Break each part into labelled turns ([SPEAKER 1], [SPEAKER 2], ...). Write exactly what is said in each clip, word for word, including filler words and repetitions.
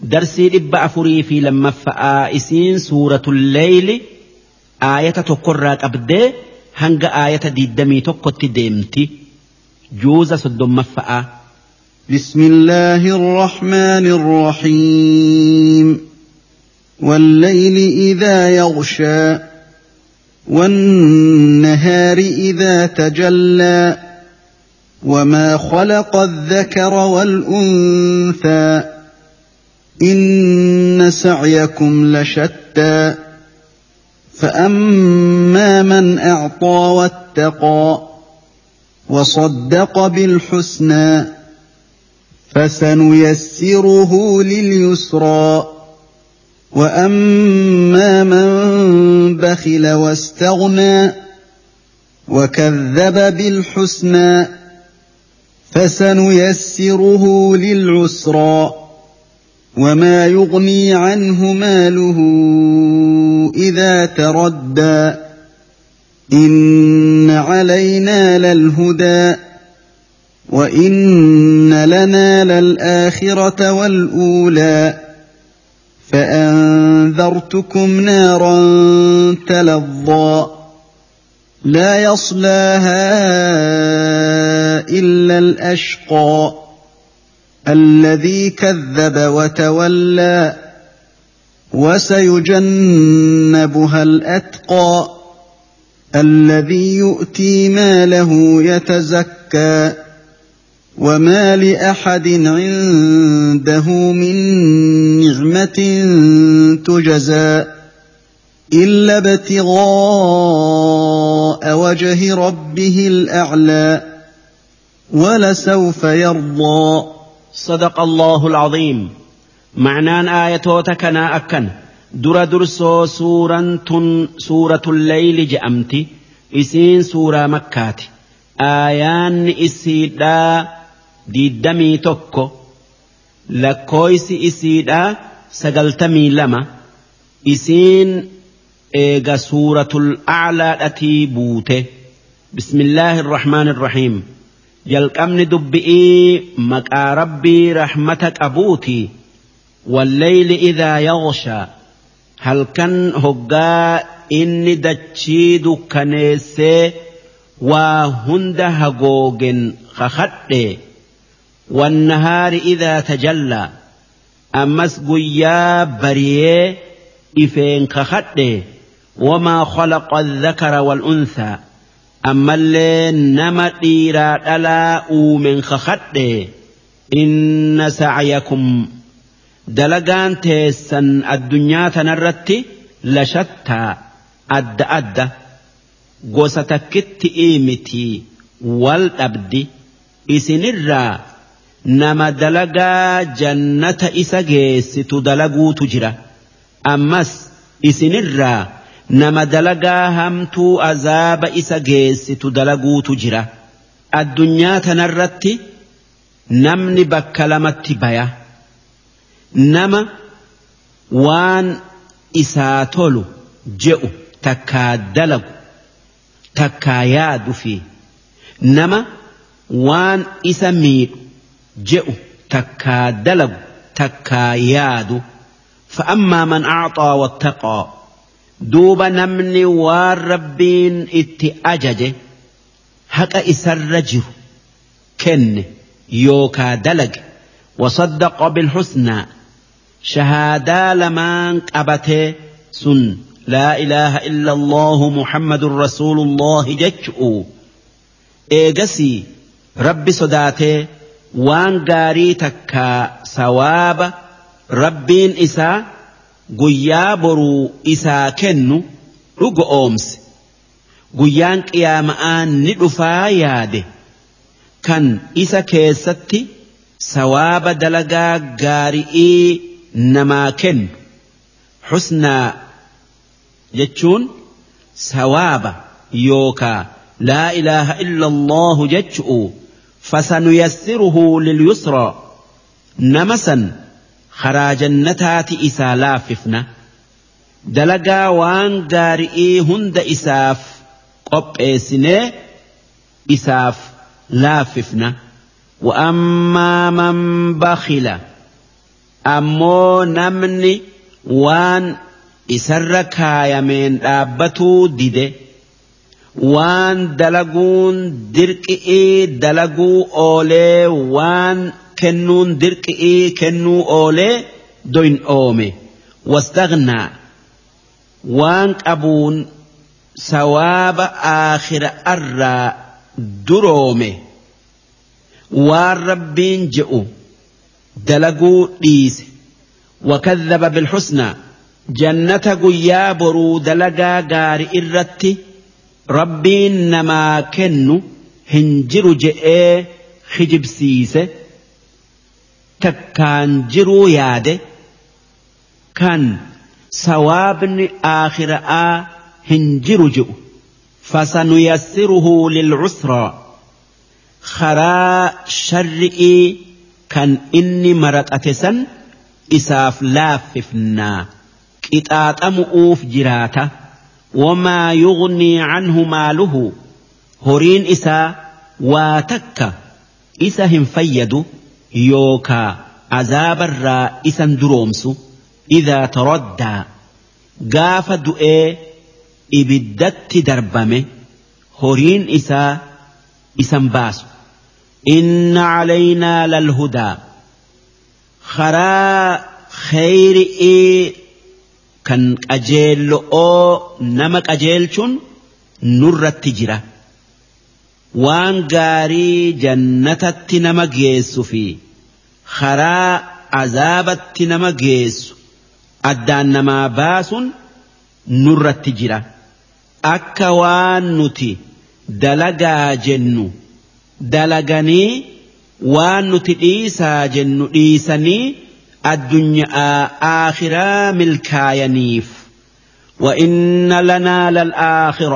[SPEAKER 1] درسي لبا أفري في لما فآئسين سورة الليل آية تقرأ أبدي هنگ آية ديدمي تقوت ديمتي جوز صدم مفآ.
[SPEAKER 2] بسم الله الرحمن الرحيم. والليل إذا يغشى والنهار إذا تجلى وما خلق الذكر والأنثى إن سعيكم لشتى فأما من أعطى واتقى وصدق بالحسنى فسنيسره لليسرى وأما من بخل واستغنى وكذب بالحسنى فسنيسره للعسرى وما يغني عنه ماله إذا تردى إن علينا للهدى وإن لنا للآخرة والأولى فأنذرتكم نارا تلظى لا يصلاها إلا الأشقى الذي كذب وتولى وسيجنبها الأتقى الذي يؤتي ماله يتزكى وما لأحد عنده من نعمة تجزى إلا ابتغاء وجه ربه الأعلى ولسوف يرضى.
[SPEAKER 1] صدق الله العظيم. معنان آياتوتكنا أكن در درسو سورة سورة الليل جأمتي إسين سورة مكات آيان إسيدا ديدمي توكو لكويس إسيدا سقلتمي لما إسين إيغا سورة الأعلى التي بوته. بسم الله الرحمن الرحيم. jalqabni dubbi'ii maqaa rabbii rahmata qabuuti. wallayli idhaa yaghshaa halkan hoggaa inni dachii dukkaneessee waa hunda hagoogen kakadhe. wannahaari idhaa tajallaa ammas guyyaa bariyee ifeen kakadhe. wamaa khalaqa adhakara wal'unthaa ammallee nama dhiiraa dhalaa uumen kakadhe. inna sa'yakum dalagaan teessan addunyaa tanarratti lashattaa adda adda gosa takkitti miti wal dhabdi. isinirraa nama dalagaa jannata isa geessitu dalaguutu jira ammas isinirraa nama dalagaa hamtuu azaaba isa geessitu dalaguutu jira. addunyaa tanarratti namni bakka lamatti baya. nama waan isaa tolu je'u takkaa dalagu takkaa yaadu fi nama waan isa miidhu je'u takkaa dalagu takkaa yaadu. fa'ammaa man a'xaa wattaqaa duuba namni waan rabbiin itti ajaje haqa isarra jiru kenne yookaa dalage. wasaddaqa bilhusnaa shahaadaa lamaan qabatee sun laa ilaaha illa allahu muhammadun rasuulullahi jechu'u eegasii rabbi sodaatee waan gaarii takkaa sawaaba rabbiin isaa guyyaa boruu isaa kennu dhugo oomse. guyyaan qiyaama'aan ni dhufaa yaade kan isa keessatti sawaaba dalagaa gaari'ii namaa kennu. husnaa jechuun sawaaba yookaa laa ilaaha illa allahu jechu'u fasanuyassiruhu lilyusraa nama san karaa jannataati isaa laaffifna. dalagaa waan gaari'ii hunda isaaf qopheessinee isaaf laaffifna. وأما من بخل ammoo namni waan isarra kaayameen dhaabbatuu dide waan dalaguun dirqi'ii dalaguu oolee waan kennuun dirqi'ii kennuu oolee doyin oome wastaghnaa waan qabuun sawaaba aakhira arraa duroome waan rabbiin je'u dalaguu dhiise wakadhaba bilhusnaa jannata guyyaa boruu dalagaa gaari irratti rabbiin namaa kennu hin jiru je'ee hijibsiise takkaan jiruu yaade kan sawaabni aakhira'aa hin jiru je'u fasanuyassiruhu lil'usraa karaa sharri'ii kan inni maraxate san isaaf laaffifnaa qixaaxamu'uuf jiraata wamaa yugnii canhu maaluhu horiin isaa waa takka isa hin fayyadu yookaa azaabarraa isan duroomsu idaa taraddaa gaafa du'ee ibiddatti darbame horiin isaa isan baasu inna calaynaa lalhudaa karaa khayri'ii kan qajeello'oo nama qajeelchuun nurratti jira waan gaarii jannatatti nama geessu fi karaa azaabatti nama geessu addaan namaa baasuun nurratti jira akka waan nuti dalagaa jennu dalaganii waan nuti dhiisaa jennu dhiisanii addunyaa aakhiraa milkaayaniif wa inna lanaa lalaakhira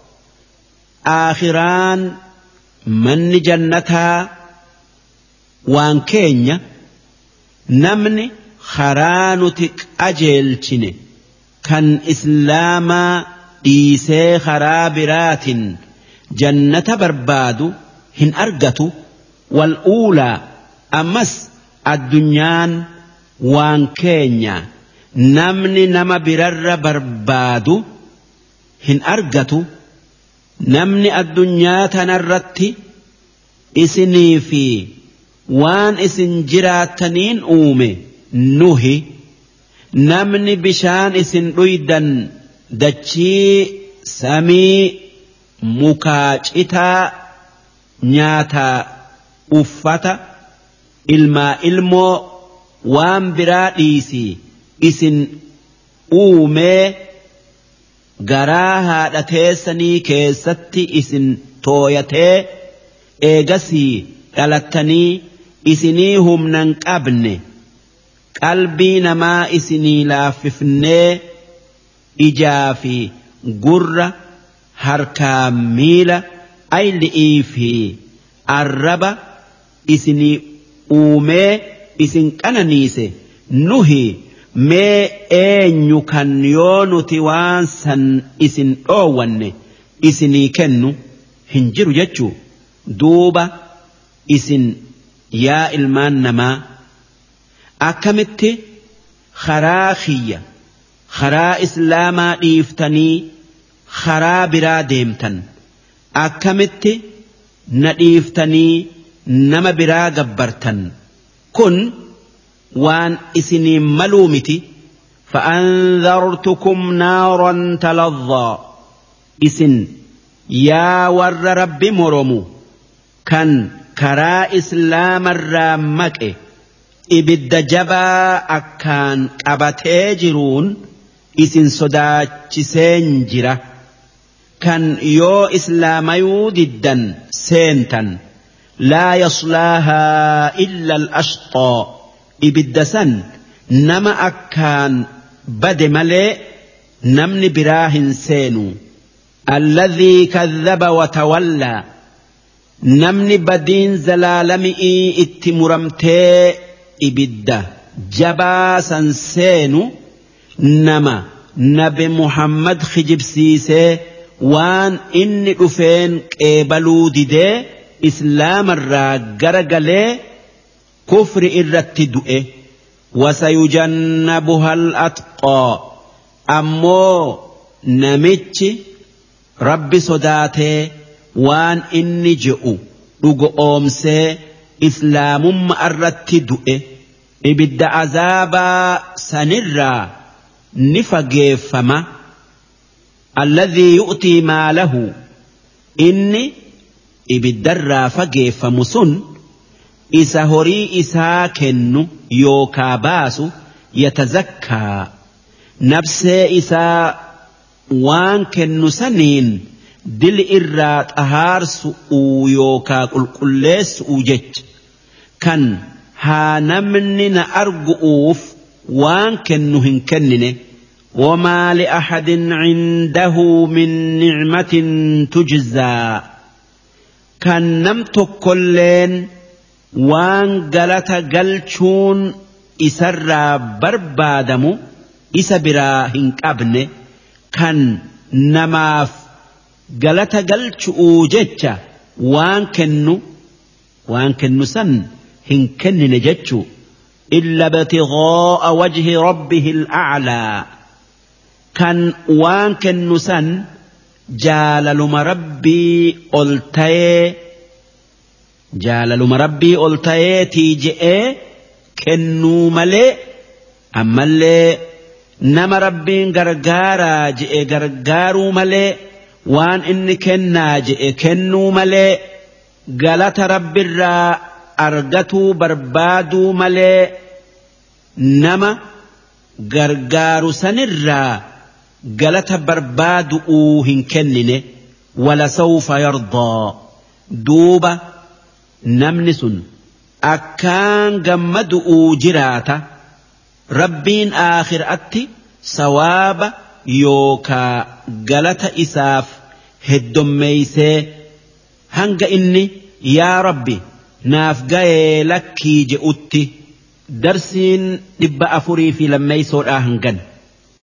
[SPEAKER 1] aakhiraan manni jannataa waan keenya namni karaa nuti qajeelchine kan islaamaa dhiisee karaa biraatin jannata barbaadu hin argatu wal uulaa ammas addunyaan waan keenya namni nama birarra barbaadu hin argatu namni addunyaa tanarratti isinii fi waan isin jiraataniin uume nuhi namni bishaan isin dhuydan dachii samii mukaa citaa nyaataa uffata ilmaa ilmoo waan biraa dhiisii isin uumee garaa haadha teessanii keessatti isin tooyatee eegasii dhalattanii isinii humnan qabne qalbii namaa isinii laaffifnee ijaa fi gurra harkaa miila ayli'ii fi arraba isinii uumee isin qananiise nuhi mee eenyu kan yoo nuti waan san isin dhoowwanne isinii kennu hin jiru jechuu duuba isin yaa ilmaan namaa akkamitti karaa kiyya karaa islaamaa dhiiftanii karaa biraa deemtan akkamitti na dhiiftanii nama biraa gabbartan kun waan isinii maluu miti فأنذرتكم نارا تلظى إسن يا ور رب مرمو كان كرا إسلام الرامك إبد جبا أكان أبتاجرون إسن صداتش سنجرة كان يو إسلام يوددا سنتا لا يصلاها إلا الأشقى إبد سن نما أكان بد ملئ نمن براه سينو الذي كذب وتولى نمن بدين زلالمئي اتمرمتي إبدا جبا سنسينو نما نبي محمد خجب سيسي وان إني أفين قبلو ديدي إسلام الراقر قلي كفر إرتدؤه وسيجنبها الأتقى أمو نمتش رب صداته وان إني جئو لغو أمسي إسلام مأرت دؤه إبد عذابا سنرا نفقه فما الذي يؤتي ماله إني إبد الرافقه فمسن إسا هري إسا كنو يوكا باسو يتزكى نفس إسا وان كنو سنين دل إرات أهار سؤو يوكا قل قل سؤو جج كان ها نمننا أرقؤوف وان كنو هنكنن وما لأحد عنده من نعمة تجزى كان نمت كلين وان قلت قلتون إسر بربادمو إسبرا هنكابن كان نماف قلت قلتو جتش وان كنو وان كنو سن هنكن جتشو إلا ابتغاء وجه ربه الأعلى كان وان كنو سن جالل مربي ألتاي جالل مربي ألتاي تيجئ كنو ملئ أما اللي نما ربين غرغارا جئ غرغارو ملئ وان إن كنا جئ كنو ملئ غلط رب الرا أرغتو بربادو ملئ نما غرغارو سنرا غلط بربادو اوهن كنن ولسوف يرضى دوبا نمنس أكان غمدو جراتا ربين آخر أتي سواب يوكا غلط إساف هدوم ميسي هنگ إني يا ربي naaf ga'ee lakkii je'utti darsiin dhibba afurii fi lammeeysoodhaa hangan